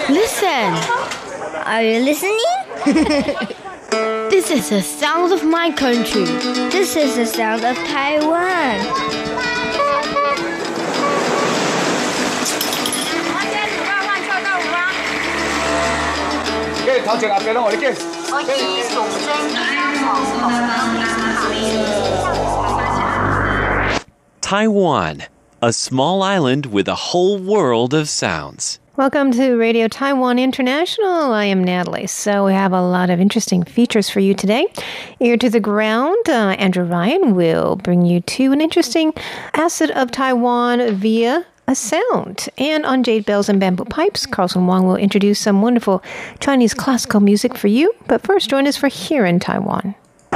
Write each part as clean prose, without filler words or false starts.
Listen. Are you listening? This is the sound of my country. This is the sound of Taiwan. Taiwan, a small island with a whole world of sounds. Welcome to Radio Taiwan International. I am Natalie. So we have a lot of interesting features for you today. Ear to the ground, Andrew Ryan will bring you to an interesting asset of Taiwan via a sound. And on Jade Bells and Bamboo Pipes, Carlson Wong will introduce some wonderful Chinese classical music for you. But first, join us for Here in Taiwan.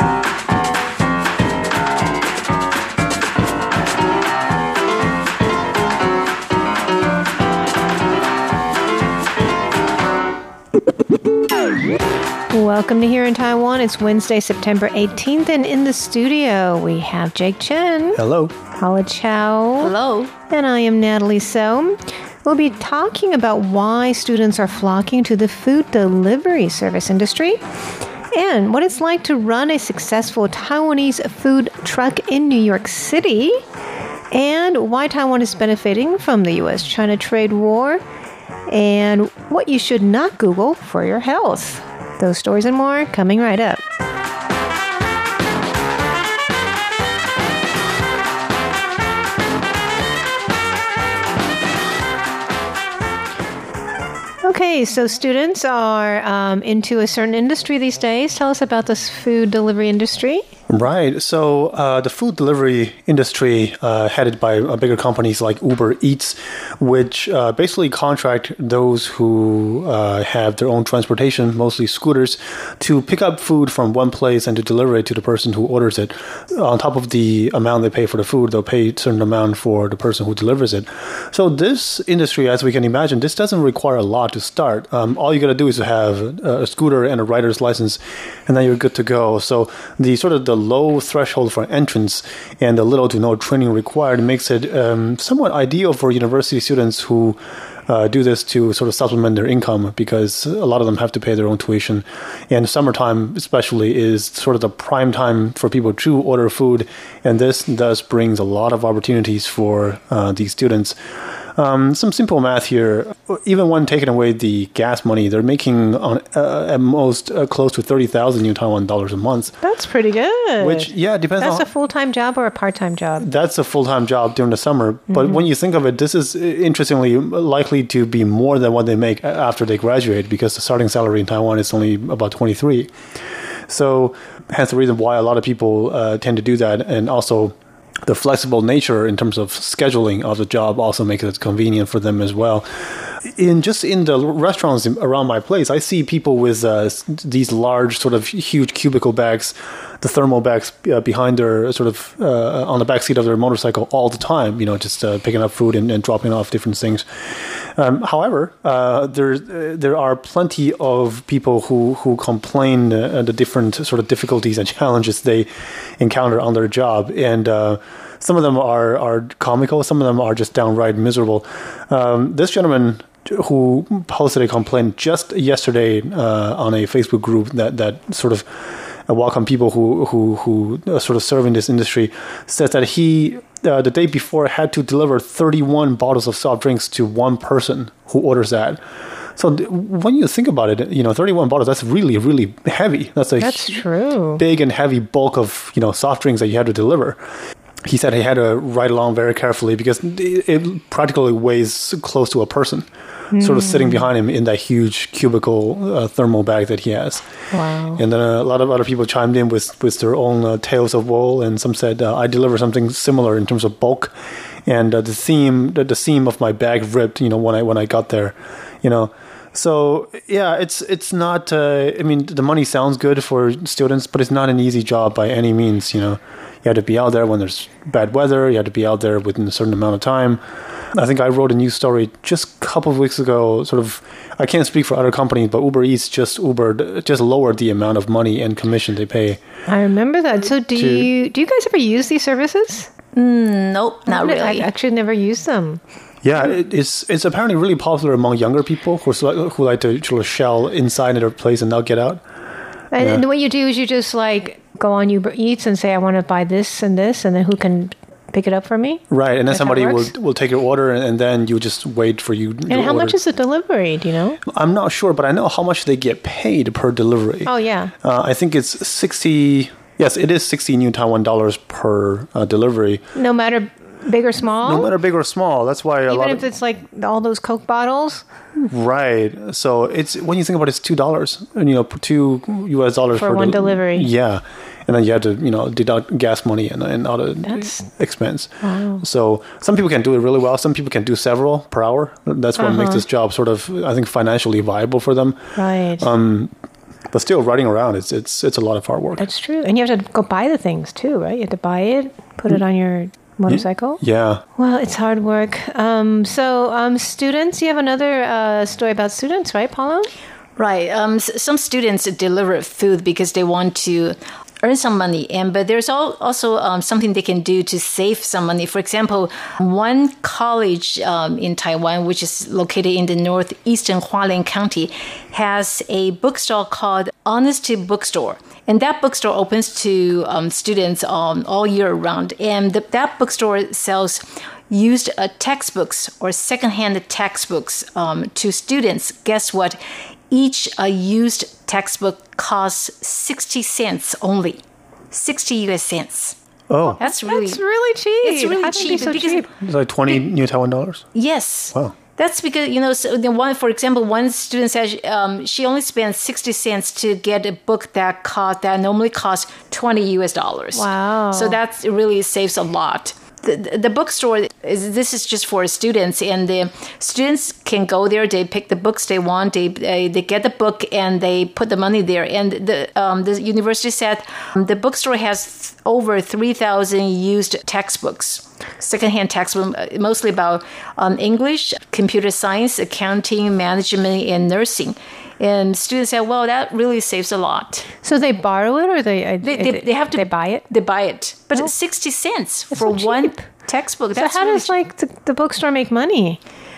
Welcome to Here in Taiwan. It's Wednesday, September 18th, and in the studio we have Jake Chen. Hello. Paula Chow. Hello. And I am Natalie So. We'll be talking about why students are flocking to the food delivery service industry and what it's like to run a successful Taiwanese food truck in New York City and why Taiwan is benefiting from the U.S.-China trade war and what you should not Google for your health. Those stories and more coming right up. Okay, so students are into a certain industry these days. Tell us about this food delivery industry. Right. So the food delivery industry headed by bigger companies like Uber Eats, which basically contract those who have their own transportation, mostly scooters, to pick up food from one place and to deliver it to the person who orders it. On top of the amount they pay for the food, they'll pay a certain amount for the person who delivers it. So this industry, as we can imagine, this doesn't require a lot to start. All you got to do is to have a scooter and a rider's license, and then you're good to go. So the sort of the low threshold for entrance and the little to no training required makes it somewhat ideal for university students who do this to sort of supplement their income, because a lot of them have to pay their own tuition. And summertime especially is sort of the prime time for people to order food, and this thus brings a lot of opportunities for these students. Some simple math here. Even when taking away the gas money, they're making at most close to 30,000 New Taiwan dollars a month. That's pretty good. Which, yeah, depends on... That's a full-time job or a part-time job? That's a full-time job during the summer. But when you think of it, this is interestingly likely to be more than what they make after they graduate, because the starting salary in Taiwan is only about 23. So hence the reason why a lot of people tend to do that. And also the flexible nature in terms of scheduling of the job also makes it convenient for them as well. In the restaurants around my place, I see people with these large, sort of huge cubicle bags, the thermal bags behind their sort of on the back seat of their motorcycle all the time. Just picking up food and dropping off different things. However, there are plenty of people who complain the different sort of difficulties and challenges they encounter on their job, and some of them are comical, some of them are just downright miserable. This gentleman who posted a complaint just yesterday on a Facebook group that sort of welcome people who sort of serve in this industry, says that he the day before had to deliver 31 bottles of soft drinks to one person who orders that. So when you think about it, 31 bottles, that's really, really heavy. That's true. Big and heavy bulk of, soft drinks that you have to deliver. He said he had to ride along very carefully because it practically weighs close to a person, sort of sitting behind him in that huge cubicle thermal bag that he has. Wow. And then a lot of other people chimed in with their own tales of woe, and some said, I deliver something similar in terms of bulk, and the seam of my bag ripped, when I got there, So, yeah, it's not, the money sounds good for students, but it's not an easy job by any means, You have to be out there when there's bad weather. You have to be out there within a certain amount of time. I think I wrote a news story just a couple of weeks ago, sort of, I can't speak for other companies, but Uber Eats just lowered the amount of money and commission they pay. I remember that. So do you guys ever use these services? Nope, not really. I actually never use them. Yeah, it's apparently really popular among younger people who like to sort of shell inside their place and not get out. And what you do is you just like go on Uber Eats and say, I want to buy this, and then who can pick it up for me? Right, and then That's how it somebody works? will take your order, and then you just wait for you. And how much is the delivery? Do you know? I'm not sure, but I know how much they get paid per delivery. Oh, yeah. I think it's 60. Yes, it is 60 new Taiwan dollars per delivery. No matter big or small? No matter big or small. That's why Even if it's like all those Coke bottles? Right. So it's when you think about it, it's $2, and $2 US For one delivery. Yeah, and then you have to deduct gas money and other expense. Wow. So some people can do it really well. Some people can do several per hour. That's what makes this job sort of, I think, financially viable for them. Right. But still, riding around, it's a lot of hard work. That's true. And you have to go buy the things too, right? You have to buy it, put it on your motorcycle. Yeah. Well, it's hard work. So students, you have another story about students, right, Paulo? Right. Some students deliver food because they want to earn some money, but there's also something they can do to save some money. For example, one college in Taiwan, which is located in the northeastern Hualien County, has a bookstore called Honesty Bookstore. And that bookstore opens to students all year round. And that bookstore sells used textbooks or secondhand textbooks to students. Guess what? Each used textbook costs 60 cents only. 60 US cents. Oh. That's really cheap. It's really How can it be cheap. so because cheap? It's like 20 new Taiwan dollars. Yes. Wow. That's because, so the one, for example, one student says she only spends 60 cents to get a book that normally costs $20 US. Wow. So that really saves a lot. The bookstore this is just for students, and the students can go there. They pick the books they want. They get the book and they put the money there. And the university said the bookstore has over 3,000 used textbooks, secondhand textbooks, mostly about English, computer science, accounting, management, and nursing. And students said, well, that really saves a lot. So they borrow it, or they have to they buy it? They buy it, but it's 60 cents for so one cheap. textbook. So That's how really does the bookstore make money?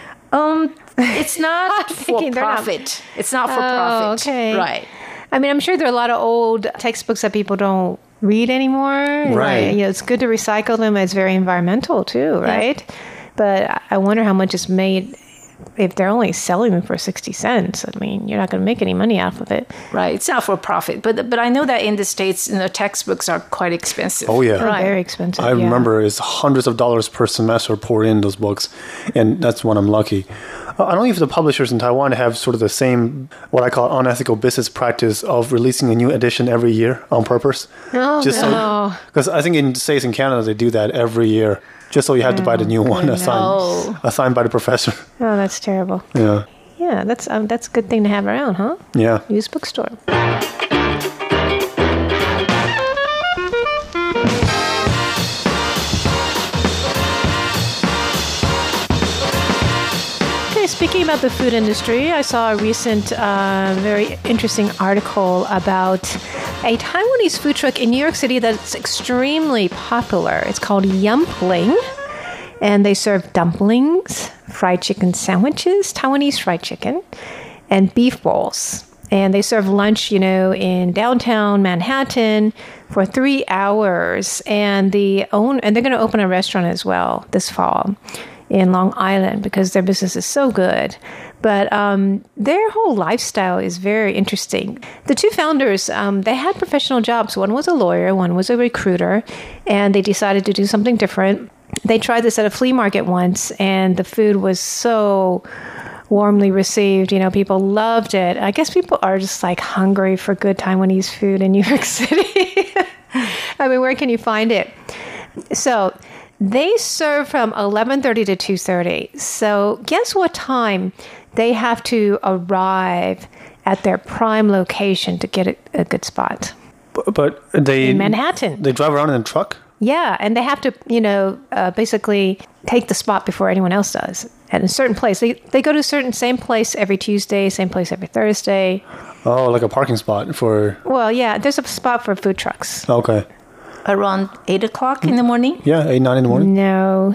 It's not for thinking they're not- profit. It's not for profit. Okay. Right. I mean, I'm sure there are a lot of old textbooks that people don't read anymore. Right. It's good to recycle them. It's very environmental too, right? But I wonder how much is made if they're only selling them for 60 cents. I mean, you're not going to make any money off of it. Right. It's not for profit. But I know that in the States, textbooks are quite expensive. Oh, yeah. They're very expensive. I remember it's hundreds of dollars per semester poured in those books, and that's when I'm lucky. I don't know if the publishers in Taiwan have sort of the same, what I call unethical business practice of releasing a new edition every year on purpose. Oh, no. Because I think in the States and Canada, they do that every year, just so you have to buy the new one assigned by the professor. Oh, that's terrible. Yeah. Yeah, that's a good thing to have around, huh? Yeah. Used bookstore. Speaking about the food industry, I saw a recent, very interesting article about a Taiwanese food truck in New York City that's extremely popular. It's called Yumpling, and they serve dumplings, fried chicken sandwiches, Taiwanese fried chicken, and beef bowls. And they serve lunch, in downtown Manhattan for 3 hours. And they're going to open a restaurant as well this fall in Long Island because their business is so good. But their whole lifestyle is very interesting. The two founders, they had professional jobs. One was a lawyer, one was a recruiter, and they decided to do something different. They tried this at a flea market once, and the food was so warmly received. People loved it. I guess people are just like hungry for good Taiwanese food in New York City. I mean, where can you find it? So they serve from 11:30 to 2:30. So guess what time they have to arrive at their prime location to get a good spot? But they in Manhattan. They drive around in a truck? Yeah, and they have to, basically take the spot before anyone else does at a certain place. They go to same place every Tuesday, same place every Thursday. Oh, like a parking spot for... Well, yeah, there's a spot for food trucks. Okay. Around 8 o'clock in the morning? Yeah, 8, 9 in the morning. No.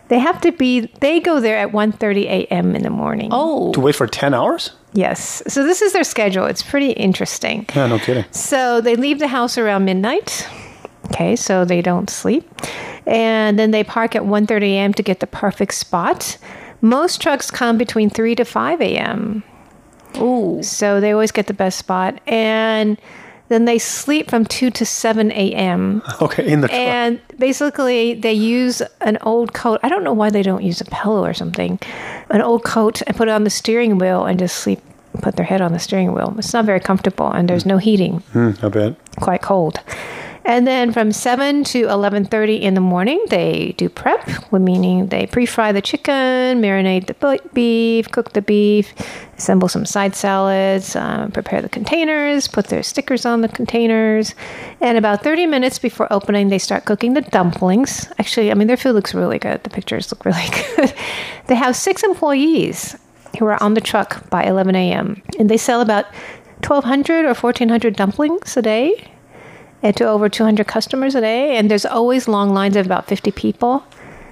They go there at 1:30 a.m. in the morning. Oh. To wait for 10 hours? Yes. So this is their schedule. It's pretty interesting. Yeah, no kidding. So they leave the house around midnight. Okay, so they don't sleep. And then they park at 1:30 a.m. to get the perfect spot. Most trucks come between 3 to 5 a.m. Ooh. So they always get the best spot. And then they sleep from 2 to 7 a.m. Okay, in the truck. And basically, they use an old coat. I don't know why they don't use a pillow or something. An old coat and put it on the steering wheel and just sleep, put their head on the steering wheel. It's not very comfortable, and there's no heating. I bet. Quite cold. And then from 7 to 11:30 in the morning, they do prep, meaning they pre-fry the chicken, marinate the beef, cook the beef, assemble some side salads, prepare the containers, put their stickers on the containers. And about 30 minutes before opening, they start cooking the dumplings. Actually, I mean, their food looks really good. The pictures look really good. They have 6 employees who are on the truck by 11 a.m. And they sell about 1,200 or 1,400 dumplings a day. And to over 200 customers a day. And there's always long lines of about 50 people.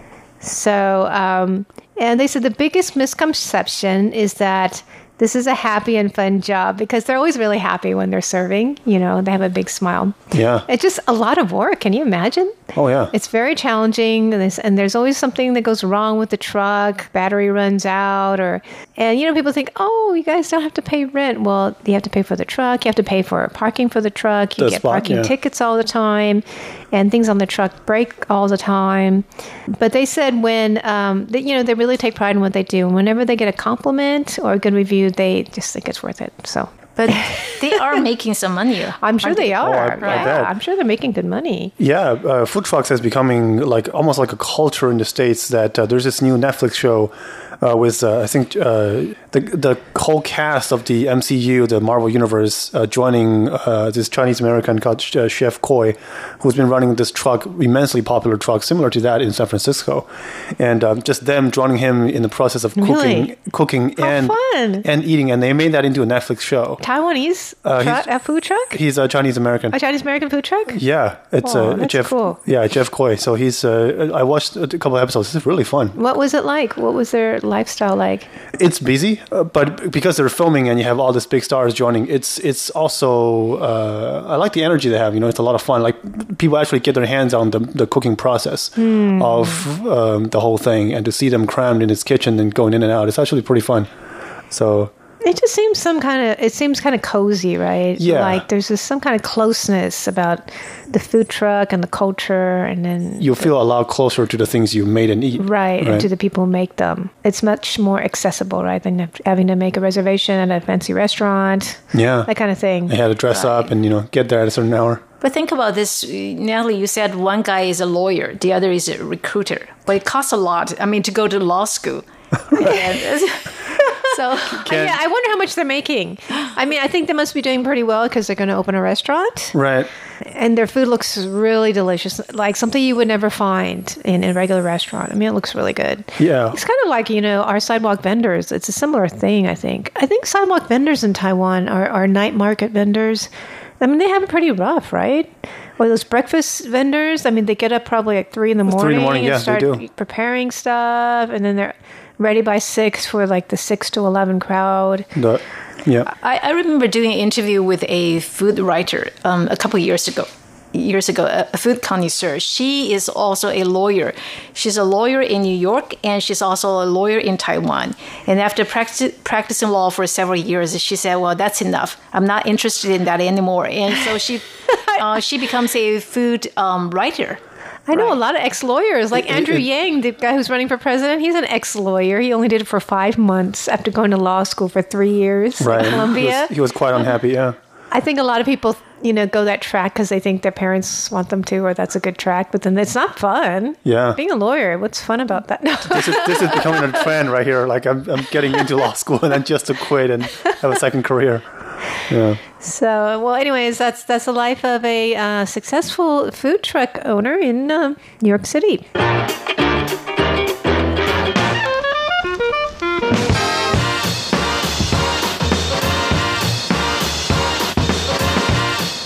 So, and they said the biggest misconception is that this is a happy and fun job because they're always really happy when they're serving. You know, they have a big smile. Yeah. It's just a lot of work. Can you imagine? Oh, yeah. It's very challenging, and there's always something that goes wrong with the truck. Battery runs out, and you know, people think, oh, you guys don't have to pay rent. Well, you have to pay for the truck. You have to pay for parking for the truck. You get parking tickets all the time, and things on the truck break all the time. But they said when, they really take pride in what they do. And whenever they get a compliment or a good review, they just think it's worth it. So. But they are making some money. I'm sure they are. I bet. I'm sure they're making good money. Yeah, food trucks is becoming almost like a culture in the States that there's this new Netflix show with, I think, the whole cast of the MCU, the Marvel Universe, joining this Chinese-American called Chef Koi, who's been running this truck, immensely popular truck, similar to that in San Francisco. And just them joining him in the process of cooking and eating. And they made that into a Netflix show. Taiwanese a food truck? He's a Chinese-American. A Chinese-American food truck? Yeah. It's Jeff. Cool. Yeah, Jeff Koi. So he's, I watched a couple of episodes. It's really fun. What was it like? What was their lifestyle like? It's busy, but because they're filming and you have all these big stars joining, it's also, I like the energy they have. You know, it's a lot of fun. Like, people actually get their hands on the cooking process of the whole thing, and to see them crammed in his kitchen and going in and out, it's actually pretty fun. So it just seems kind of cozy, right? Yeah. Like there's just some kind of closeness about the food truck and the culture, and then you feel a lot closer to the things you made and eat. Right, and to the people who make them. It's much more accessible, right, than having to make a reservation at a fancy restaurant. Yeah. That kind of thing. They had to dress up and, get there at a certain hour. But think about this, Natalie, you said one guy is a lawyer, the other is a recruiter. But it costs a lot, to go to law school. So, yeah, I wonder how much they're making. I mean, I think they must be doing pretty well because they're going to open a restaurant. Right. And their food looks really delicious, like something you would never find in a regular restaurant. I mean, it looks really good. Yeah. It's kind of like, our sidewalk vendors. It's a similar thing, I think. I think sidewalk vendors in Taiwan are night market vendors. I mean, they have it pretty rough, right? Or those breakfast vendors, I mean, they get up probably at 3 in the morning and start preparing stuff, and then they're ready by 6 for like the 6 to 11 crowd. Yeah. I remember doing an interview with a food writer a couple of years ago, a food connoisseur. She is also a lawyer. She's a lawyer in New York, and she's also a lawyer in Taiwan. And after practicing law for several years, she said, well, that's enough. I'm not interested in that anymore. And so she becomes a food writer. I know a lot of ex-lawyers, like Andrew Yang, the guy who's running for president. He's an ex-lawyer. He only did it for 5 months after going to law school for 3 years at Columbia. He was quite unhappy, yeah. I think a lot of people, go that track because they think their parents want them to, or that's a good track. But then it's not fun. Yeah. Being a lawyer, what's fun about that? No. This is becoming a trend right here. Like, I'm getting into law school and then just to quit and have a second career. Yeah. So, well, anyways, that's the life of a successful food truck owner in New York City. Okay, speaking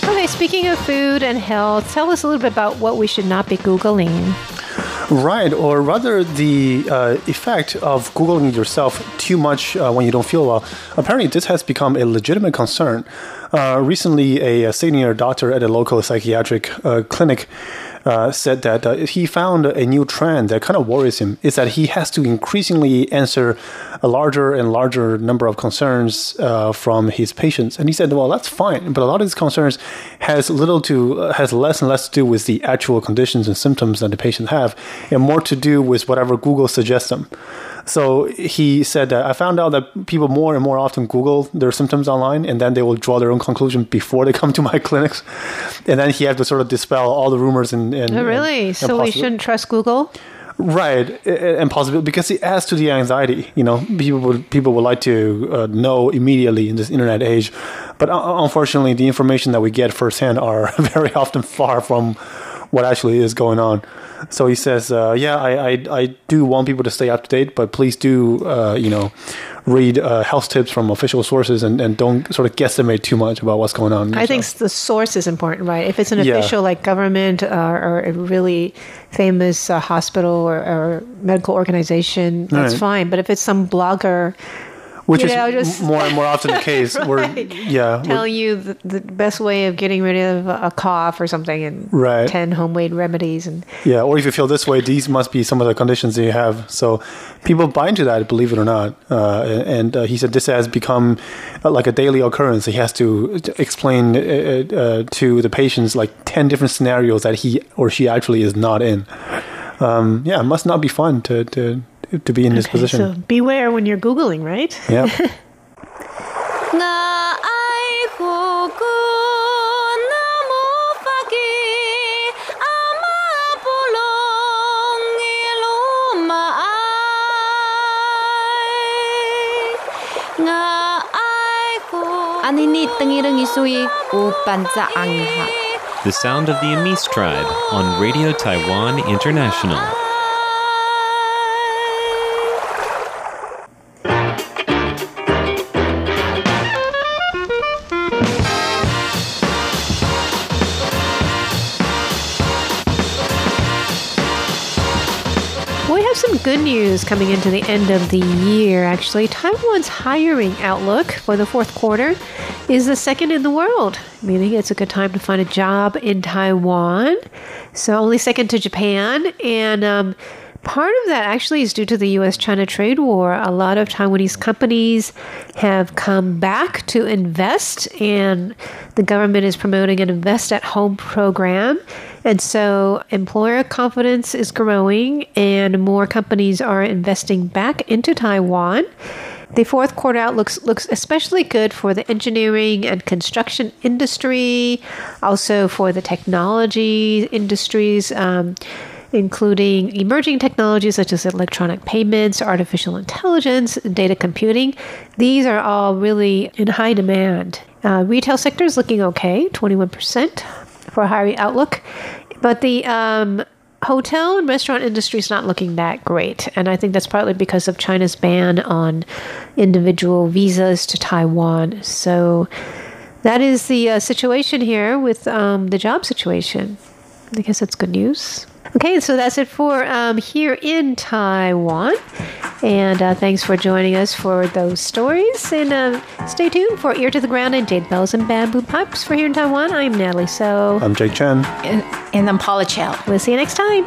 speaking of food and health, tell us a little bit about what we should not be Googling. Right, or rather the effect of Googling yourself too much when you don't feel well. Apparently, this has become a legitimate concern. Recently, a senior doctor at a local psychiatric clinic said that he found a new trend that kind of worries him, is that he has to increasingly answer a larger and larger number of concerns from his patients. And he said, well, that's fine, but a lot of these concerns has less and less to do with the actual conditions and symptoms that the patient have, and more to do with whatever Google suggests them. So he said that I found out that people more and more often Google their symptoms online, and then they will draw their own conclusion before they come to my clinics. And then he had to sort of dispel all the rumors and oh, really? So we shouldn't trust Google? Right, and possibly because it adds to the anxiety. You know, people would like to know immediately in this internet age, but unfortunately, the information that we get firsthand are very often far from what actually is going on. So he says, I do want people to stay up to date, but please do, read health tips from official sources and don't sort of guesstimate too much about what's going on. I think the source is important, right? If it's an official like government or a really famous hospital or medical organization, that's fine. But if it's some blogger... Which is more and more often the case. Right. Telling you the best way of getting rid of a cough or something and 10 homemade remedies. Or if you feel this way, these must be some of the conditions that you have. So people buy into that, believe it or not. And he said this has become like a daily occurrence. He has to explain to the patients like 10 different scenarios that he or she actually is not in. It must not be fun to be in this position. So beware when you're Googling, right? Yeah. The sound of the Amis tribe on Radio Taiwan International. Some good news coming into the end of the year, actually. Taiwan's hiring outlook for the fourth quarter is the second in the world, meaning it's a good time to find a job in Taiwan. So only second to Japan. And part of that actually is due to the U.S.-China trade war. A lot of Taiwanese companies have come back to invest, and the government is promoting an Invest at Home program. And so employer confidence is growing, and more companies are investing back into Taiwan. The fourth quarter outlook looks especially good for the engineering and construction industry, also for the technology industries, including emerging technologies such as electronic payments, artificial intelligence, data computing. These are all really in high demand. Retail sector is looking okay, 21% for a hiring outlook. But the hotel and restaurant industry is not looking that great. And I think that's partly because of China's ban on individual visas to Taiwan. So that is the situation here with the job situation. I guess that's good news. Okay, so that's it for here in Taiwan. And thanks for joining us for those stories. And stay tuned for Ear to the Ground and Jade Bells and Bamboo Pipes for here in Taiwan. I'm Natalie So. I'm Jake Chen. And I'm Paula Chow. We'll see you next time.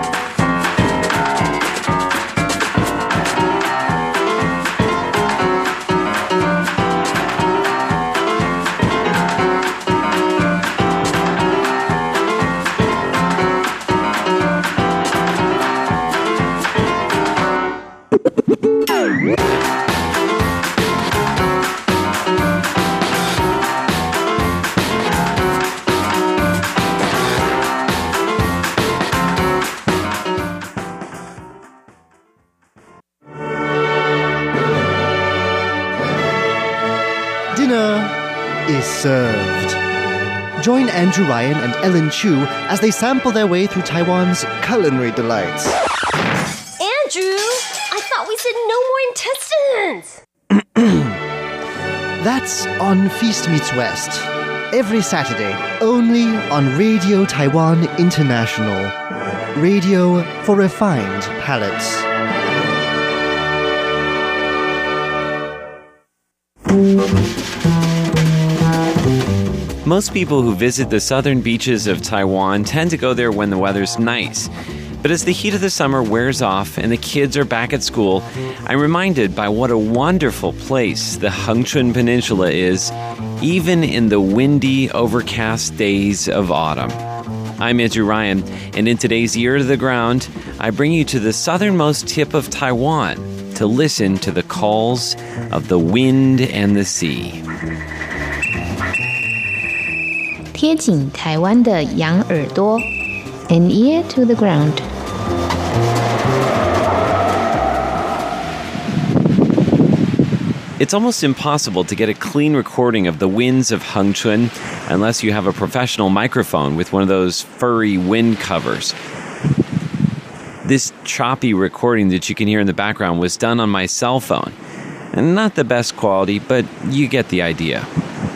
Served. Join Andrew Ryan and Ellen Chu as they sample their way through Taiwan's culinary delights. Andrew, I thought we said no more intestines. That's on Feast Meets West. every Saturday, only on Radio Taiwan International. Radio for refined palates. Most people who visit the southern beaches of Taiwan tend to go there when the weather's nice. But as the heat of the summer wears off and the kids are back at school, I'm reminded by what a wonderful place the Hengchun Peninsula is, even in the windy, overcast days of autumn. I'm Andrew Ryan, and in today's Ear to the Ground, I bring you to the southernmost tip of Taiwan to listen to the calls of the wind and the sea. 贴紧台湾的羊耳朵 An ear to the ground. It's almost impossible to get a clean recording of the winds of Hengchun unless you have a professional microphone with one of those furry wind covers. This choppy recording that you can hear in the background was done on my cell phone. And not the best quality, but you get the idea.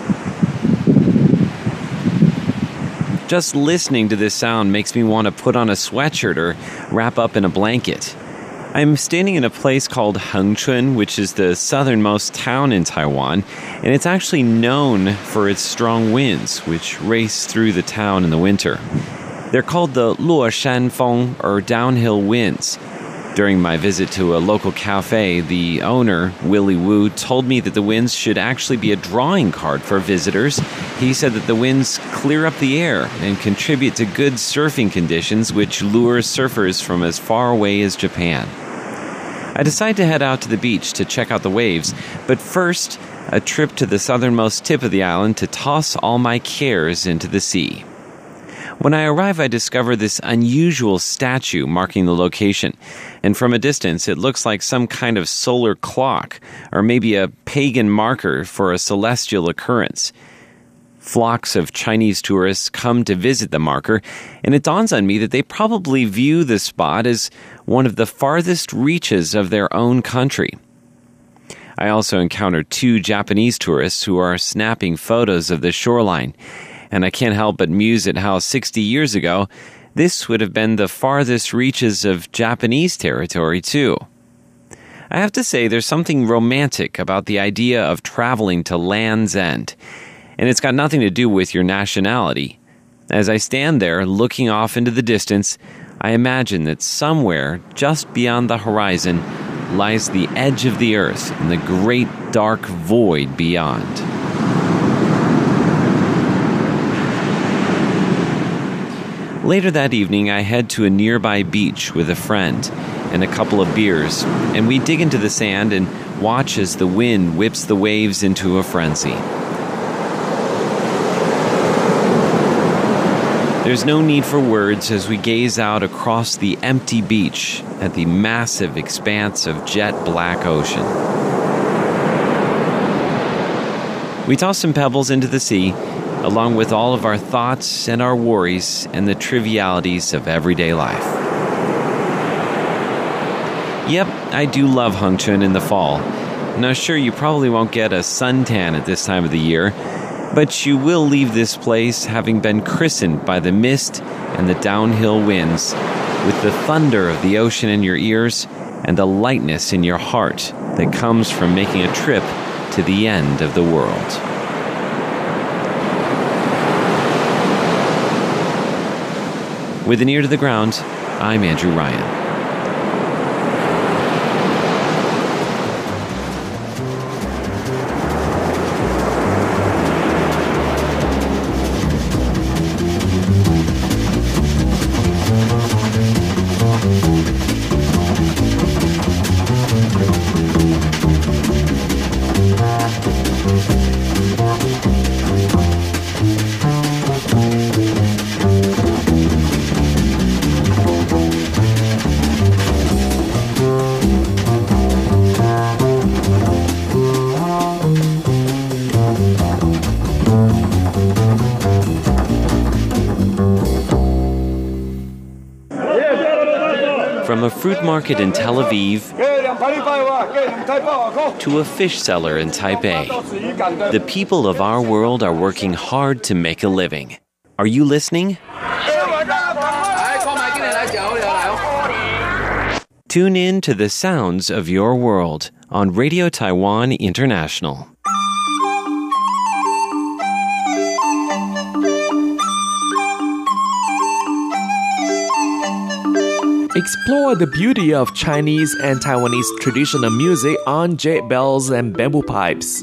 Just listening to this sound makes me want to put on a sweatshirt or wrap up in a blanket. I'm standing in a place called Hengchun, which is the southernmost town in Taiwan, and it's actually known for its strong winds, which race through the town in the winter. They're called the Luoshan Feng, or downhill winds. During my visit to a local cafe, the owner, Willie Wu, told me that the winds should actually be a drawing card for visitors. He said that the winds clear up the air and contribute to good surfing conditions, which lure surfers from as far away as Japan. I decided to head out to the beach to check out the waves, but first, a trip to the southernmost tip of the island to toss all my cares into the sea. When I arrive, I discover this unusual statue marking the location, and from a distance, it looks like some kind of solar clock, or maybe a pagan marker for a celestial occurrence. Flocks of Chinese tourists come to visit the marker, and it dawns on me that they probably view the spot as one of the farthest reaches of their own country. I also encountered 2 Japanese tourists who are snapping photos of the shoreline, and I can't help but muse at how 60 years ago, this would have been the farthest reaches of Japanese territory too. I have to say there's something romantic about the idea of traveling to Land's End, and it's got nothing to do with your nationality. As I stand there looking off into the distance, I imagine that somewhere just beyond the horizon lies the edge of the earth and the great dark void beyond. Later that evening, I head to a nearby beach with a friend and a couple of beers, and we dig into the sand and watch as the wind whips the waves into a frenzy. There's no need for words as we gaze out across the empty beach at the massive expanse of jet black ocean. We toss some pebbles into the sea, along with all of our thoughts and our worries and the trivialities of everyday life. Yep, I do love Hengchun in the fall. Now sure, you probably won't get a suntan at this time of the year, but you will leave this place having been christened by the mist and the downhill winds, with the thunder of the ocean in your ears and the lightness in your heart that comes from making a trip to the end of the world. With an ear to the ground, I'm Andrew Ryan. From a fruit market in Tel Aviv to a fish seller in Taipei. The people of our world are working hard to make a living. Are you listening? Tune in to the sounds of your world on Radio Taiwan International. Explore the beauty of Chinese and Taiwanese traditional music on jade bells and bamboo pipes.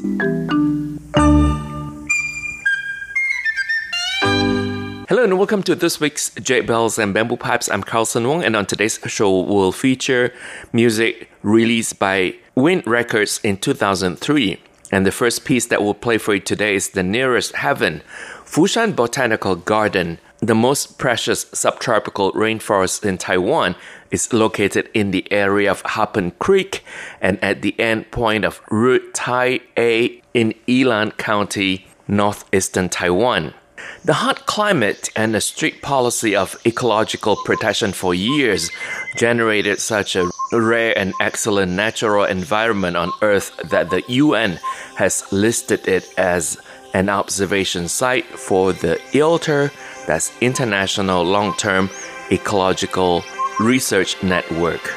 Hello and welcome to this week's Jade Bells and Bamboo Pipes. I'm Carlson Wong, and on today's show we'll feature music released by Wind Records in 2003. And the first piece that we'll play for you today is The Nearest Heaven, Fushan Botanical Garden. The most precious subtropical rainforest in Taiwan is located in the area of Happen Creek and at the end point of Route Tai A in Yilan County, northeastern Taiwan. The hot climate and a strict policy of ecological protection for years generated such a rare and excellent natural environment on Earth that the UN has listed it as an observation site for the ILTER, that's International Long-Term Ecological Research Network.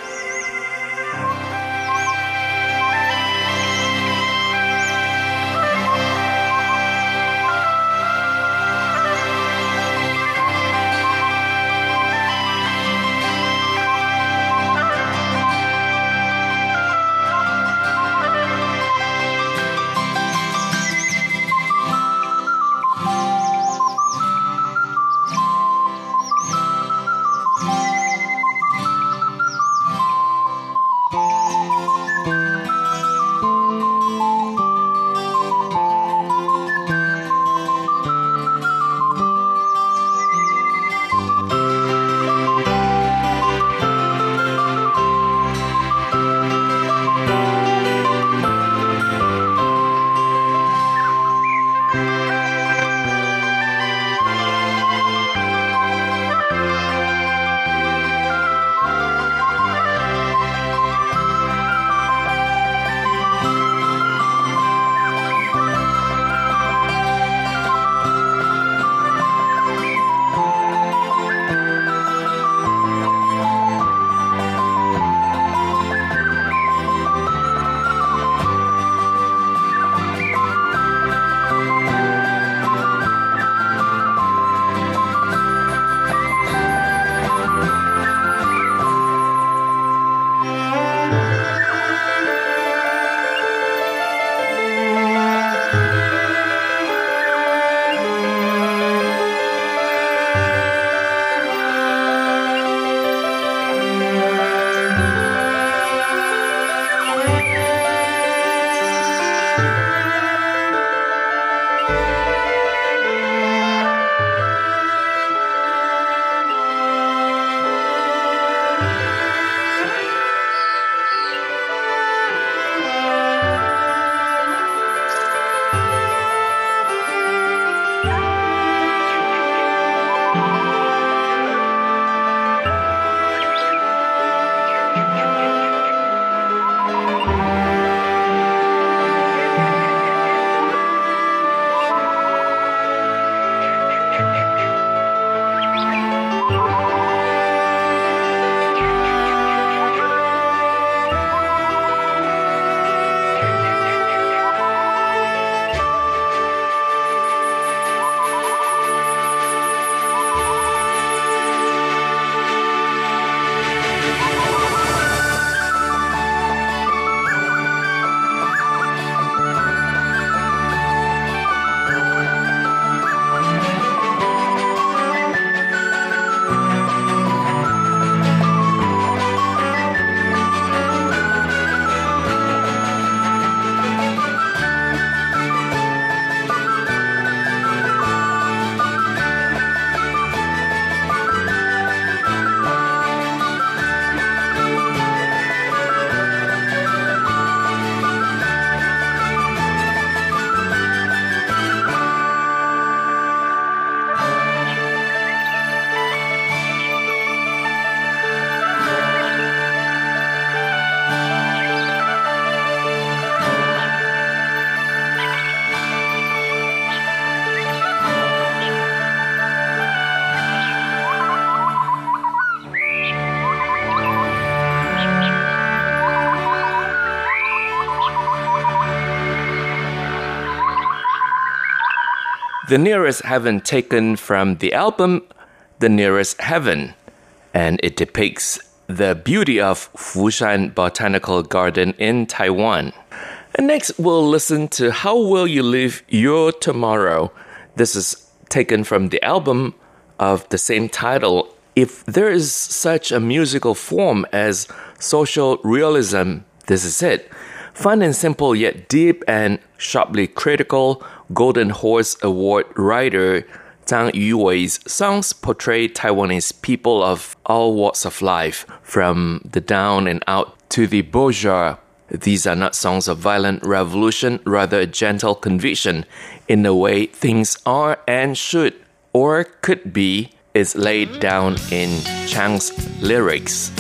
The Nearest Heaven taken from the album The Nearest Heaven, and it depicts the beauty of Fushan Botanical Garden in Taiwan. And next, we'll listen to How Will You Live Your Tomorrow? This is taken from the album of the same title. If there is such a musical form as social realism, this is it. Fun and simple yet deep and sharply critical, Golden Horse Award writer Zhang Yuwei's songs portray Taiwanese people of all walks of life, from the down and out to the bourgeois. These are not songs of violent revolution, rather a gentle conviction in the way things are and should, or could be, is laid down in Chang's lyrics.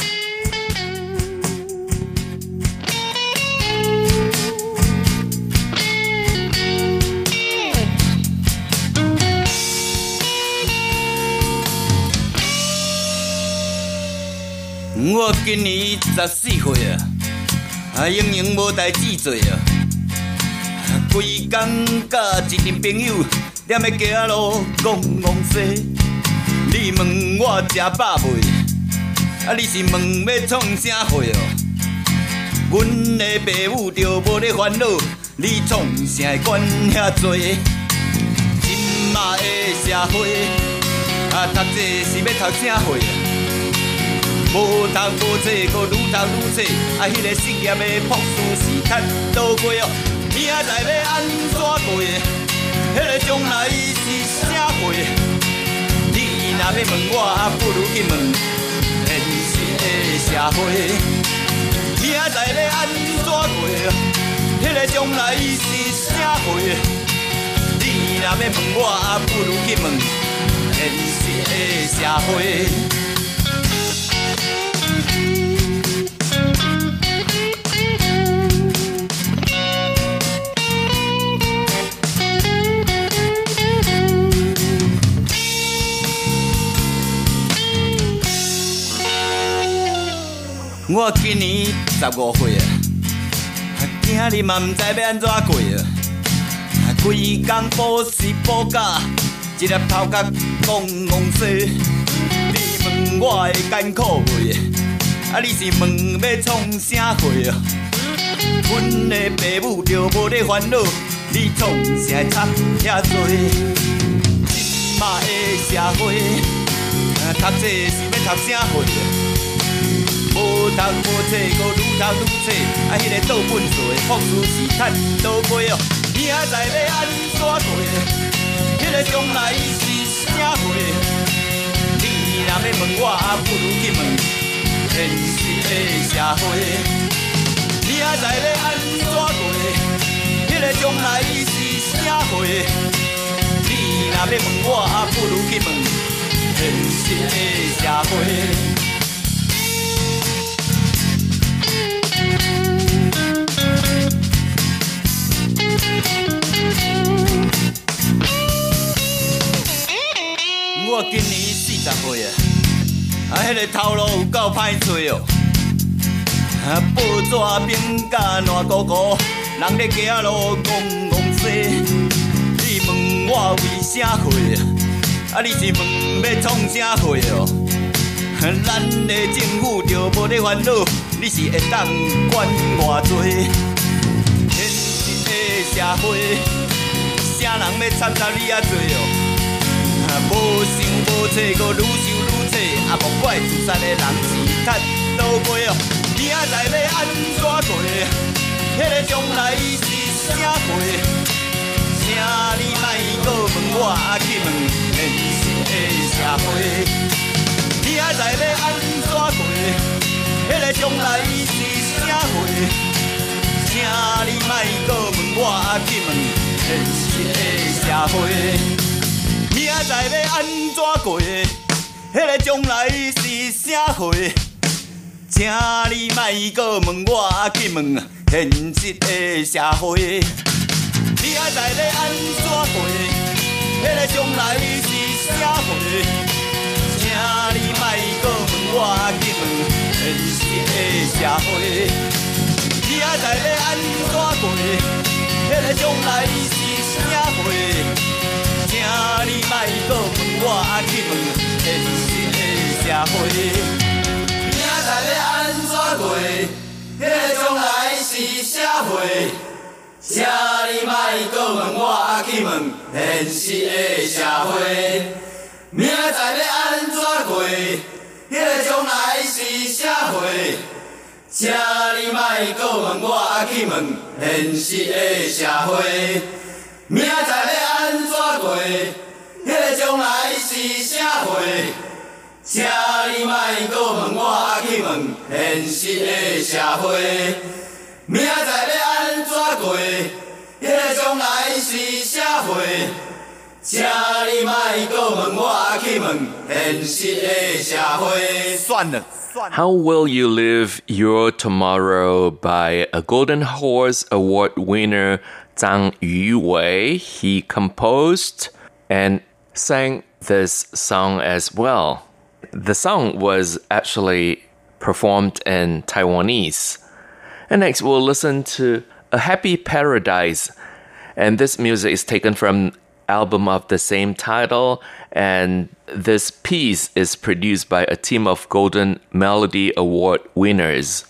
我今年14岁啊，永远无代志做啊，规工甲一群朋友踮咧街仔路讲戆西。你问我食饱未？啊，你是问要创啥货哦？阮的爸母着无咧烦恼，你创啥会管遐多？今嘛的社会啊，读册是要读啥货？无读无册，搁愈读愈册，啊，迄个失业的朴素是趁倒过哦？明仔载要安怎过？迄个将来是啥货？你若要问我，不如去问现实的社会。明仔载要安怎过？迄个将来是啥货？你若要问我，不如去问现实的社会。我今年15岁啊，囝儿嘛毋知要安怎过啊，规工补习补假，一粒头壳讲戆西。你问我会艰苦未？啊，你是问要创啥货啊？阮的爸母着无咧烦恼，你创啥会插遐多？今嘛的社会，读册是要读啥货？无读无册，搁愈读愈册，啊，迄个倒本数的朴素是趁倒过哦。明仔载要安怎过？迄个将来是啥货？你若要问我，不如去问现实的社会。明仔载要安怎过？迄个将来是啥货？你若要问我，不如去问现实的社会。我今年40岁啊，迄个头路有够歹找哦。报纸评甲烂糊糊，人咧街仔路讲戆西。你问我为啥会啊？你是问要创啥货哦？咱的政府着无咧烦恼，你是会当管偌多？现实的社会，啥人要参杂你啊多哦？无想无册，搁愈想愈册，啊，莫怪自杀的人是趁倒过哦。明仔载要安怎过？迄个将来是啥货？请你莫搁问我，去问现实的社会。明仔载要安怎过？迄个将来是啥货？请你莫搁问我，去问现实的社会。明仔载要安怎过？迄个将来是啥货？请你莫搁问我，去问现实的社会。明仔载要安怎过？迄个将来是啥货？请你莫搁问我，去问现实的社会。明仔载要安怎过？迄个将来是啥货？请会，明仔要安怎过？迄个将来是社会，请你莫搁问我去问现实的社会。明仔要安怎过？迄个将来是社会，请你莫搁问我去问现实的社会。明仔要安怎过？迄个将来是社会，请你莫搁问我去问现实的社会。明仔要安怎过？迄个将来是社会，请你莫搁问我去问现实的社会。算了。 How Will You Live Your Tomorrow by a Golden Horse Award winner Zhang Yuwei. He composed and sang this song as well. The song was actually performed in Taiwanese. And next we'll listen to A Happy Paradise. And this music is taken from album of the same title, and this piece is produced by a team of Golden Melody Award winners.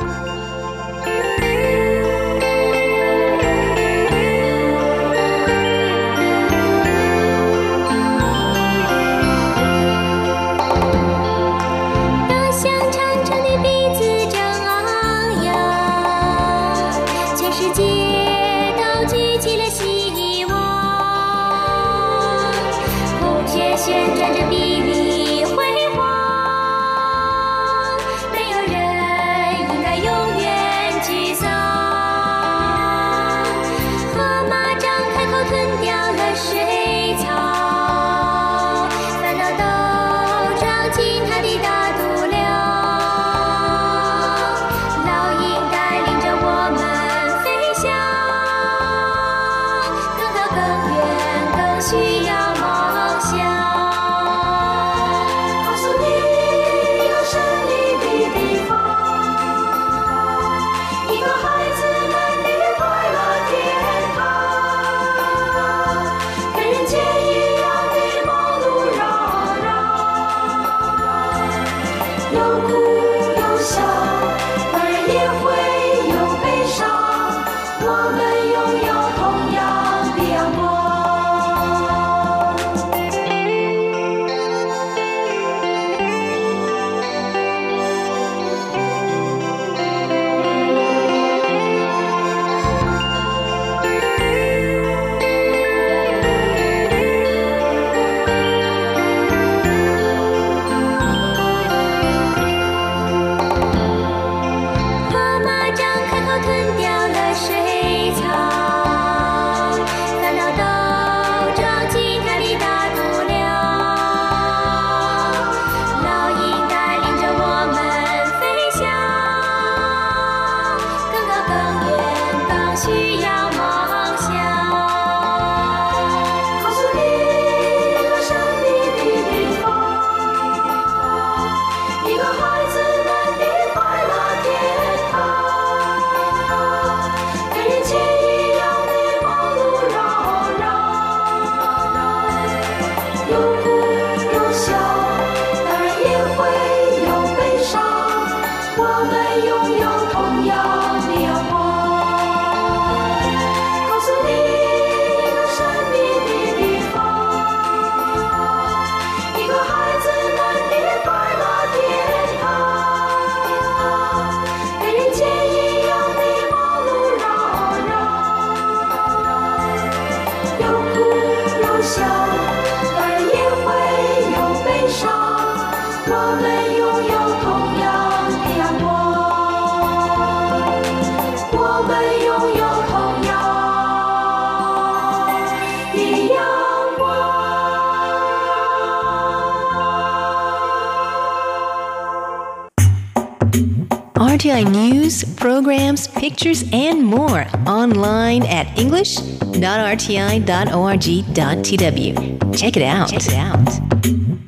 RTI News, programs, pictures, and more online at english.rti.org.tw. Check it out.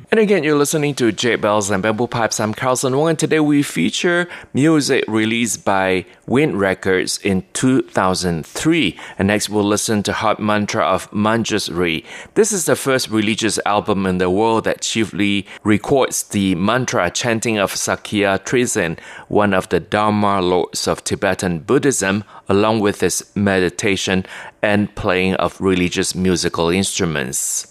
And again, you're listening to Jade Bells and Bamboo Pipes. I'm Carlson Wong, and today we feature music released by Wind Records in 2003. And next we'll listen to Heart Mantra of Manjusri. This is the first religious album in the world that chiefly records the mantra chanting of Sakya Trizin, one of the Dharma lords of Tibetan Buddhism, along with its meditation and playing of religious musical instruments.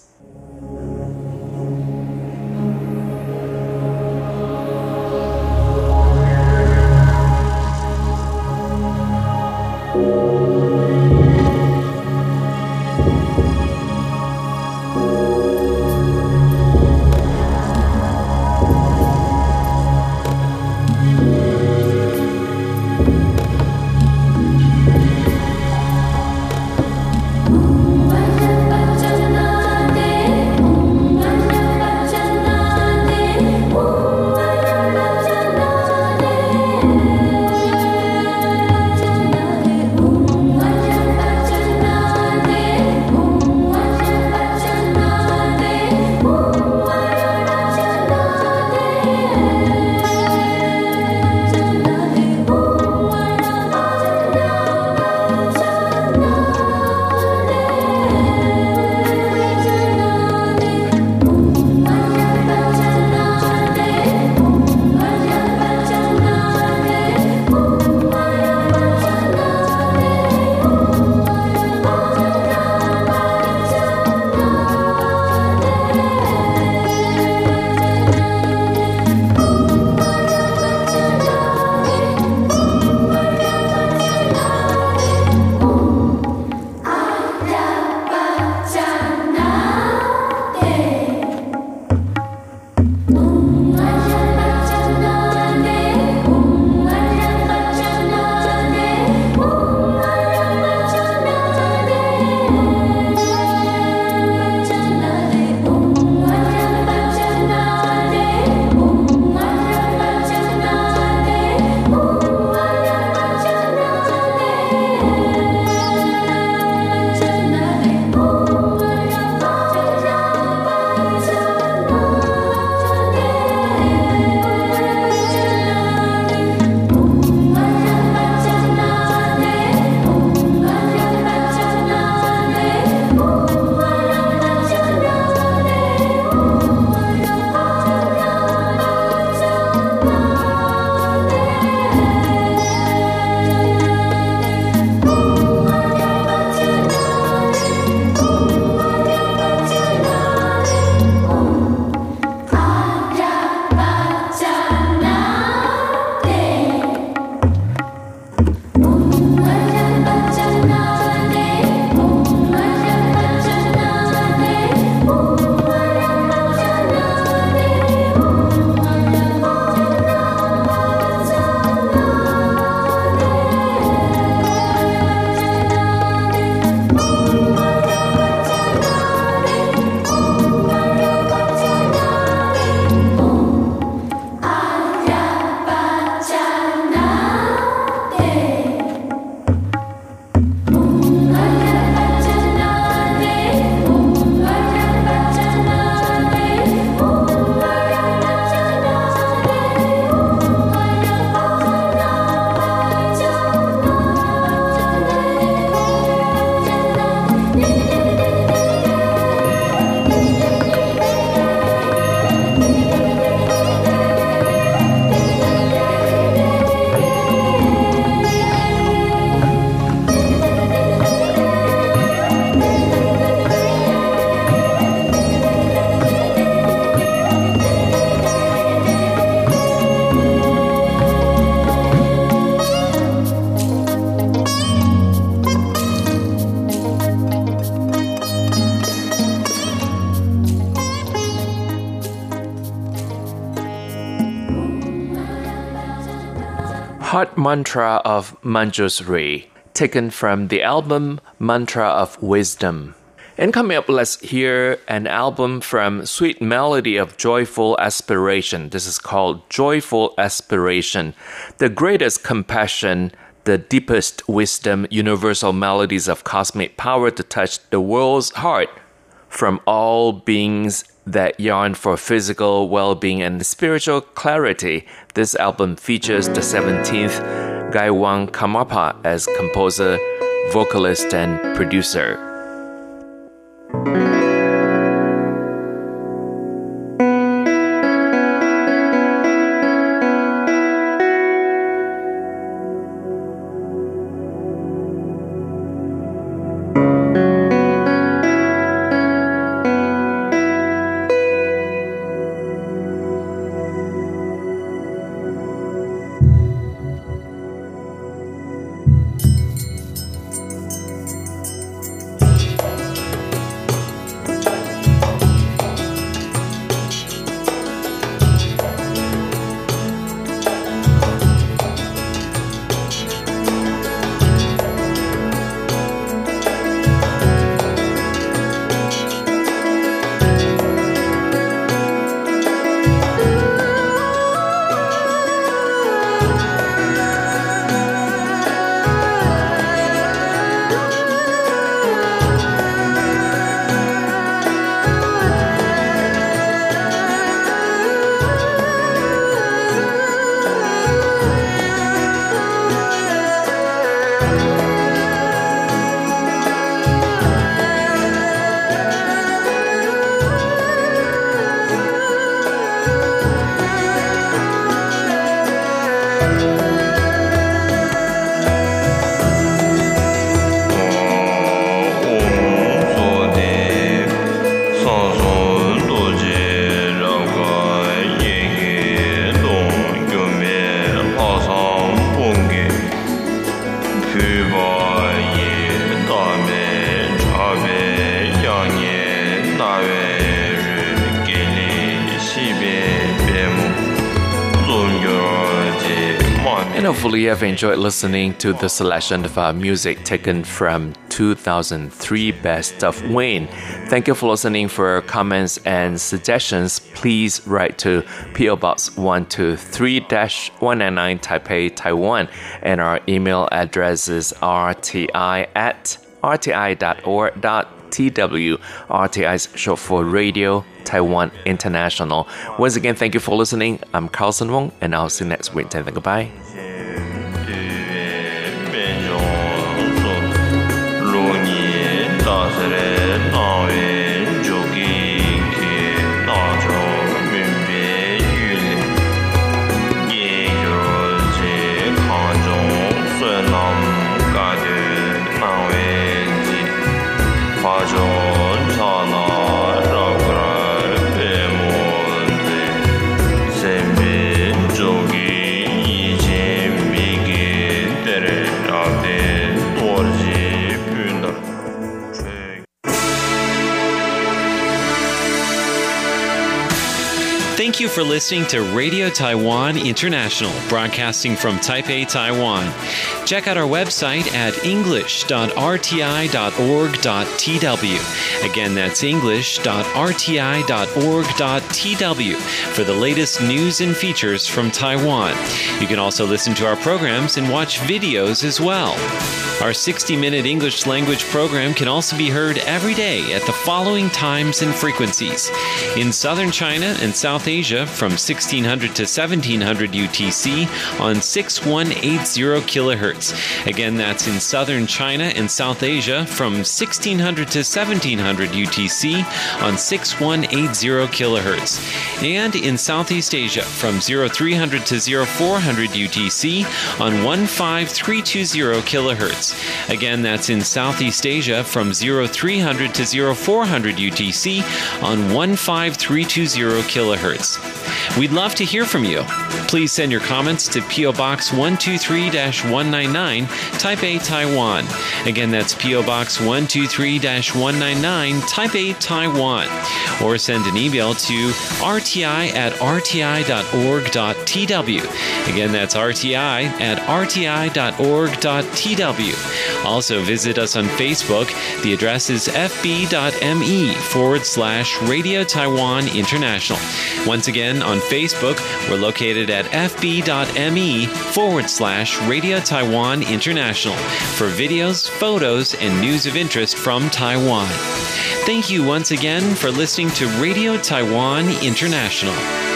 Heart Mantra of Manjusri, taken from the album Mantra of Wisdom. And coming up, let's hear an album from Sweet Melody of Joyful Aspiration. This is called Joyful Aspiration, the greatest compassion, the deepest wisdom, universal melodies of cosmic power to touch the world's heart from all beings that yearn for physical well-being and spiritual clarity. This album features the 17th Gaiwan Karmapa as composer, vocalist, and producer. And hopefully you have enjoyed listening to the selection of music taken from 2003 Best of Wayne. Thank you for listening. For comments and suggestions, please write to P.O. Box 123-199 Taipei, Taiwan. And our email address is rti@rti.org.tw. RTI is short for Radio Taiwan International. Once again, thank you for listening. I'm Carlson Wong, and I'll see you next week. Goodbye. Thank you for listening to Radio Taiwan International, broadcasting from Taipei, Taiwan. Check out our website at english.rti.org.tw. Again, that's english.rti.org.tw for the latest news and features from Taiwan. You can also listen to our programs and watch videos as well. Our 60-minute English language program can also be heard every day at the following times and frequencies. In southern China and South Asia from 1600 to 1700 UTC on 6180 kilohertz. Again, that's in southern China and South Asia from 1600 to 1700 UTC on 6180 kilohertz. And in Southeast Asia from 0300 to 0400 UTC on 15320 kilohertz. Again, that's in Southeast Asia from 0300 to 0400 UTC on 15320 kilohertz. We'd love to hear from you. Please send your comments to P.O. Box 123-199, Taipei, Taiwan. Again, that's P.O. Box 123-199, Taipei, Taiwan. Or send an email to rti@rti.org.tw. Again, that's rti@rti.org.tw. Also, visit us on Facebook. The address is fb.me/Radio Taiwan International. Once again, on On Facebook, we're located at fb.me/Radio Taiwan International for videos, photos, and news of interest from Taiwan. Thank you once again for listening to Radio Taiwan International.